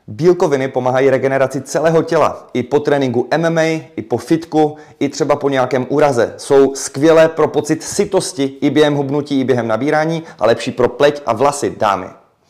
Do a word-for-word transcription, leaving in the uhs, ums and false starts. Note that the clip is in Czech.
Bílkoviny pomáhají regeneraci celého těla. I po tréninku M M A, i po fitku, i třeba po nějakém úraze. Jsou skvělé pro pocit sytosti i během hubnutí, i během nabírání a lepší pro pleť a vlasy, dámy.